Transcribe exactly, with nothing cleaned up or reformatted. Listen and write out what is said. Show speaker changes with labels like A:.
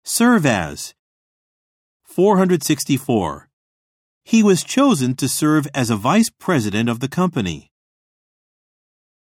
A: Serve as. four hundred sixty-four. He was chosen to serve as a vice president of the company.